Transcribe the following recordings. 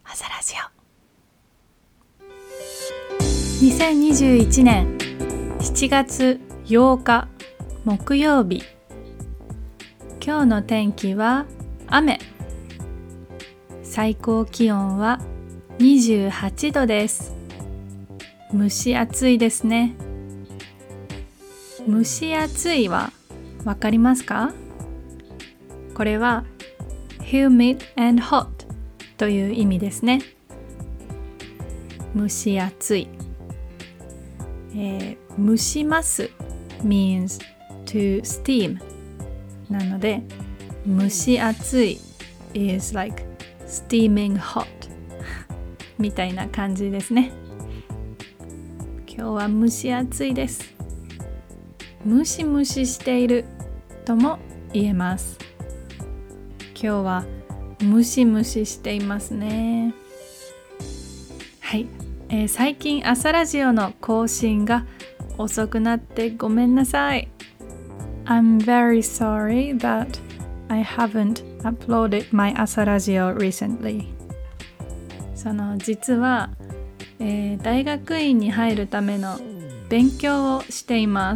朝ラジオ。2021年7月8日木曜日。今日の天気は雨。最高気温は28度です。蒸し暑いですね。蒸し暑いはわかりますか？これは humid and hot という意味ですね。蒸し暑い、蒸します means to steam なので蒸し暑い is like steaming hot みたいな感じですね。今日は蒸し暑いです。ムシムシしているとも言えます。今日はムシムシしていますね。はい、最近朝ラジオの更新が遅くなってごめんなさい。I'm very sorry that I haven't uploaded my 朝ラジオ recently. 実は、大学院に入るための勉強をしています。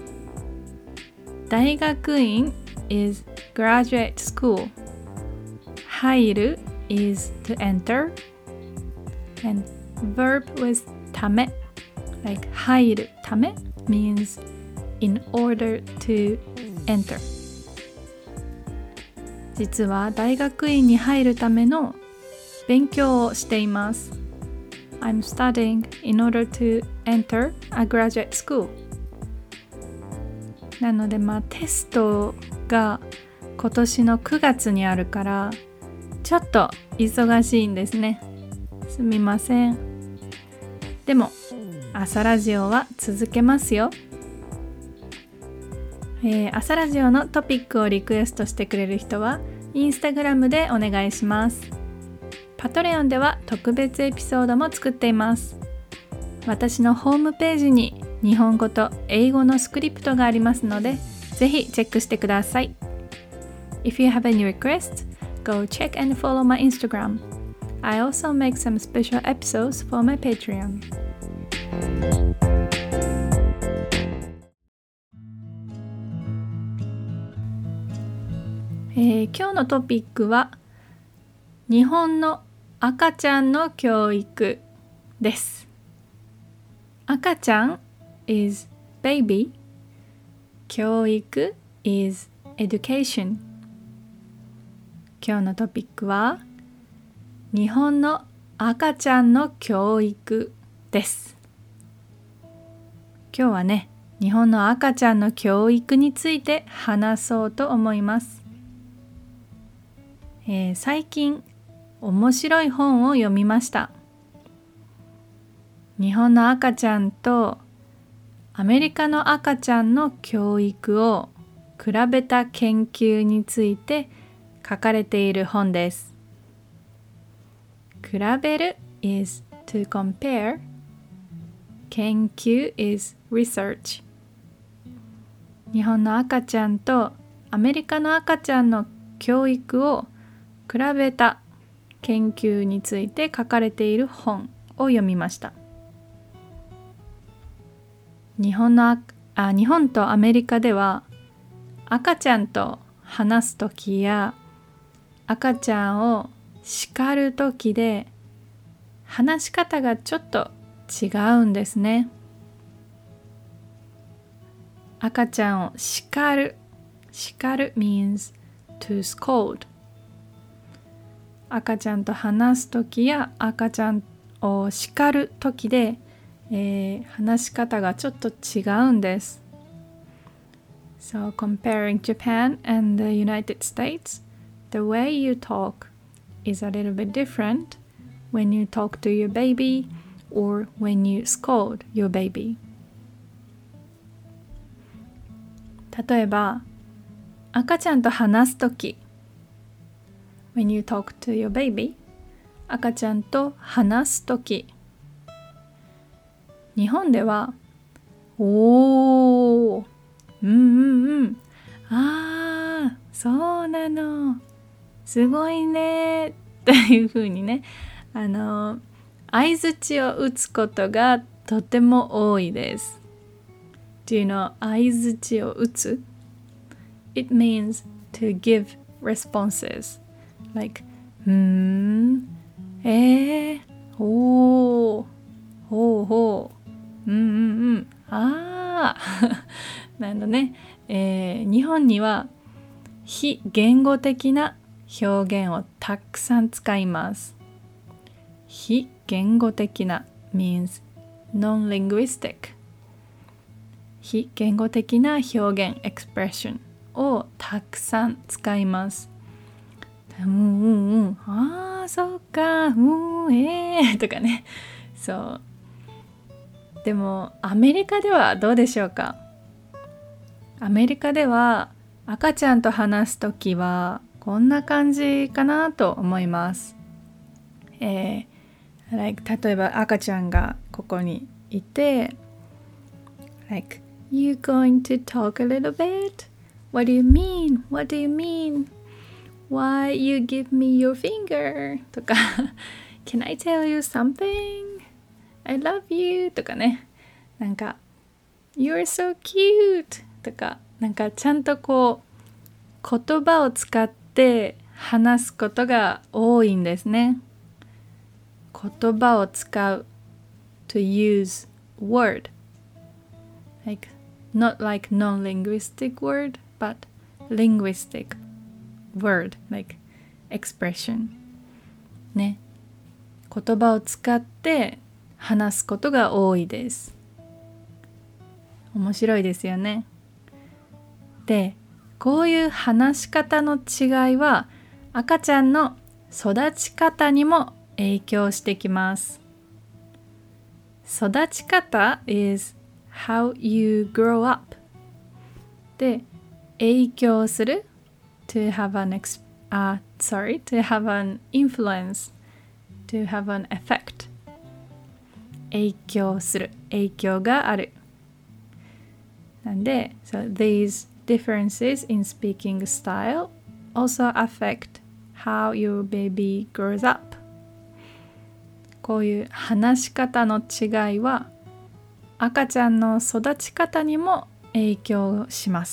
大学院 is graduate school. 入る is to enter. And verb with ため like 入るため means in order to enter. 実は大学院に入るための勉強をしています。I'm studying in order to enter a graduate school. なのでテストが今年の9月にあるからちょっと忙しいんですね。すみません。でも朝ラジオは続けますよ。朝ラジオのトピックをリクエストしてくれる人はインスタグラムでお願いします。パトレオンでは特別エピソードも作っています。私のホームページに日本語と英語のスクリプトがありますので、ぜひチェックしてください。If you have any requests, go check and follow my Instagram. I also make some special episodes for my Patreon. 今日のトピックは日本の赤ちゃんの教育です。赤ちゃん is baby. 教育 is education. 今日のトピックは日本の赤ちゃんの教育です。今日はね、日本の赤ちゃんの教育について話そうと思います。最近面白い本を読みました。日本の赤ちゃんとアメリカの赤ちゃんの教育を比べた研究について書かれている本です。比べる is to compare. 研究 is research. 日本の赤ちゃんとアメリカの赤ちゃんの教育を比べた研究について書かれている本を読みました。日本とアメリカでは赤ちゃんと話すときや赤ちゃんを叱るときで話し方がちょっと違うんですね。赤ちゃんを叱る means to scold。赤ちゃんと話すときや赤ちゃんを叱るときで、話し方がちょっと違うんです。So comparing Japan and the United States, the way you talk is a little bit different when you talk to your baby or when you scold your baby. 例えば、赤ちゃんと話すときWhen you talk to your baby, 赤ちゃんと話すとき、日本ではおー、そうなの、すごいねというふうにね、 相槌を打つことがとても多いです。Do you know 相槌を打つ？ It means to give responses like ほうほうあなんだね、日本には非言語的な表現をたくさん使います。非言語的な means non-linguistic。非言語的な表現 expression をたくさん使います。そうか、とかね。そう。でもアメリカではどうでしょうか？アメリカでは赤ちゃんと話すときはこんな感じかなと思います。例えば赤ちゃんがここにいて、like, You going to talk a little bit? What do you mean? What do you mean? Why you give me your finger? とかCan I tell you something? I love you とかね。なんか You're so cute とか、なんかちゃんとこう言葉を使って話すことが多いんですね。言葉を使う to use word like not like non-linguistic word but linguistic word like expression ね。言葉を使って話すことが多いです。面白いですよね。で、こういう話し方の違いは赤ちゃんの育ち方にも影響してきます。育ち方 is how you grow up で、影響する to have an influence to have an effect 影響する、影響がある。なんで、so these differences in speaking style also affect how your baby grows up こういう話し方の違いは赤ちゃんの育ち方にも影響します。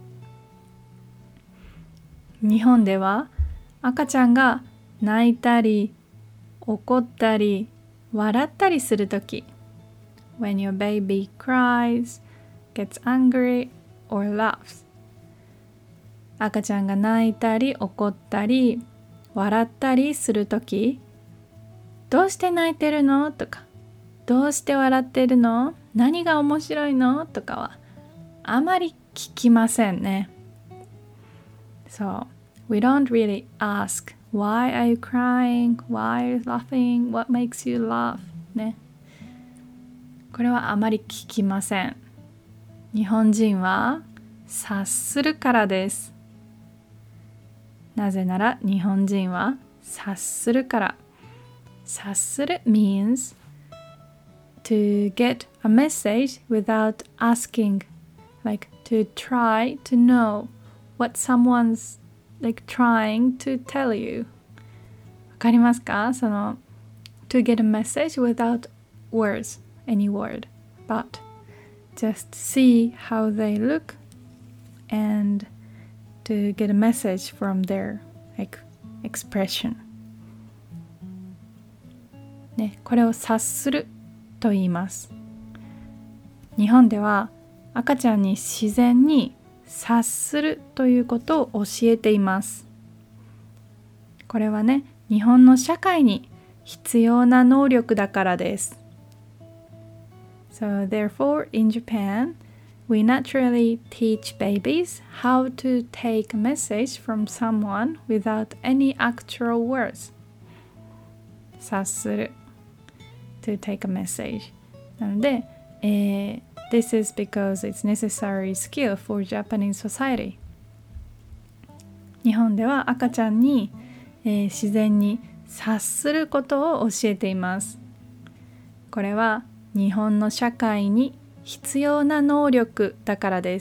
日本では赤ちゃんが泣いたり怒ったり笑ったりするとき When your baby cries, gets angry or laughs 赤ちゃんが泣いたり怒ったり笑ったりするときどうして泣いてるのとかどうして笑ってるの何が面白いのとかはあまり聞きませんね。So, we don't really ask Why are you crying? Why are you laughing? What makes you laugh? ね。これはあまり聞きません。日本人は察するからです。なぜなら日本人は察するから。察する means to get a message without asking, like to try to know what someone's like trying to tell you. わかりますか？その to get a message without words, any word, but just see how they look and to get a message from their like expression. ね、これを察すると言います。日本では赤ちゃんに自然に察するということを教えています。これはね、日本の社会に必要な能力だからです。So therefore, in Japan, we naturally teach babies how to take a message from someone without any actual words. 察する to take a message. なので、This is because it's necessary skill for Japanese society. 日本では赤ちゃんに、自然に察することを教えています。これは日本の社会に必要な能力だからです。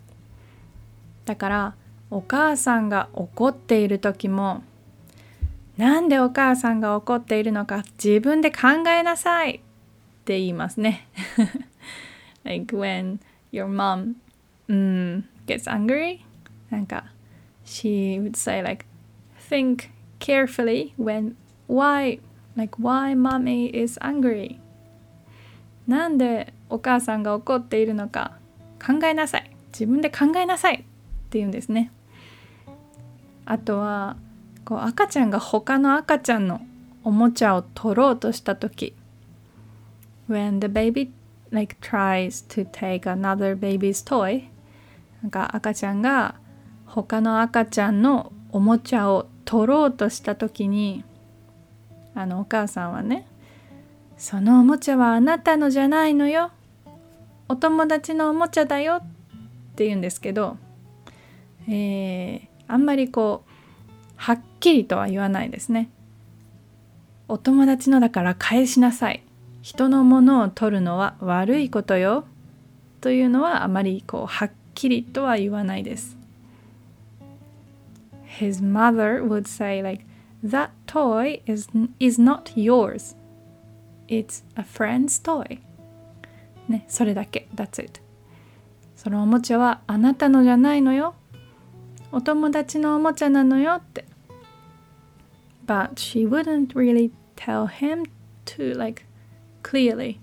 だからお母さんが怒っている時もなんでお母さんが怒っているのか自分で考えなさいって言いますね。Like when your mom gets angry, なんか she would say like think carefully why mommy is angry. なんでお母さんが怒っているのか考えなさい。自分で考えなさいって言うんですね。あとはこう赤ちゃんが他の赤ちゃんのおもちゃを取ろうとしたとき、when the baby tries to take another baby's toy、 なんか赤ちゃんが他の赤ちゃんのおもちゃを取ろうとしたときに、お母さんはね、そのおもちゃはあなたのじゃないのよ、お友達のおもちゃだよって言うんですけど、あんまりこうはっきりとは言わないですね。お友達のだから返しなさい、人のものを取るのは悪いことよというのはあまりこうはっきりとは言わないです。His mother would say that toy is not yours. It's a friend's toy. ね、それだけ。That's it. そのおもちゃはあなたのじゃないのよ。お友達のおもちゃなのよって。But she wouldn't really tell him to clearly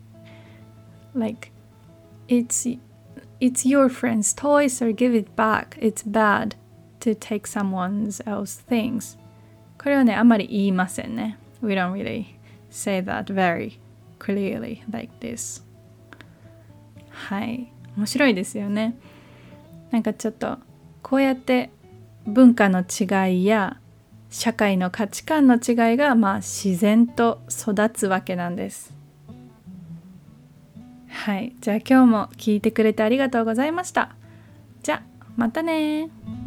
it's your friend's toy, so give it back. It's bad to take someone else's things. これはね、あまり言いませんね。We don't really say that very clearly like this. はい、面白いですよね。なんかちょっとこうやって文化の違いや社会の価値観の違いが自然と育つわけなんです。はい、じゃあ今日も聞いてくれてありがとうございました。じゃあまたね。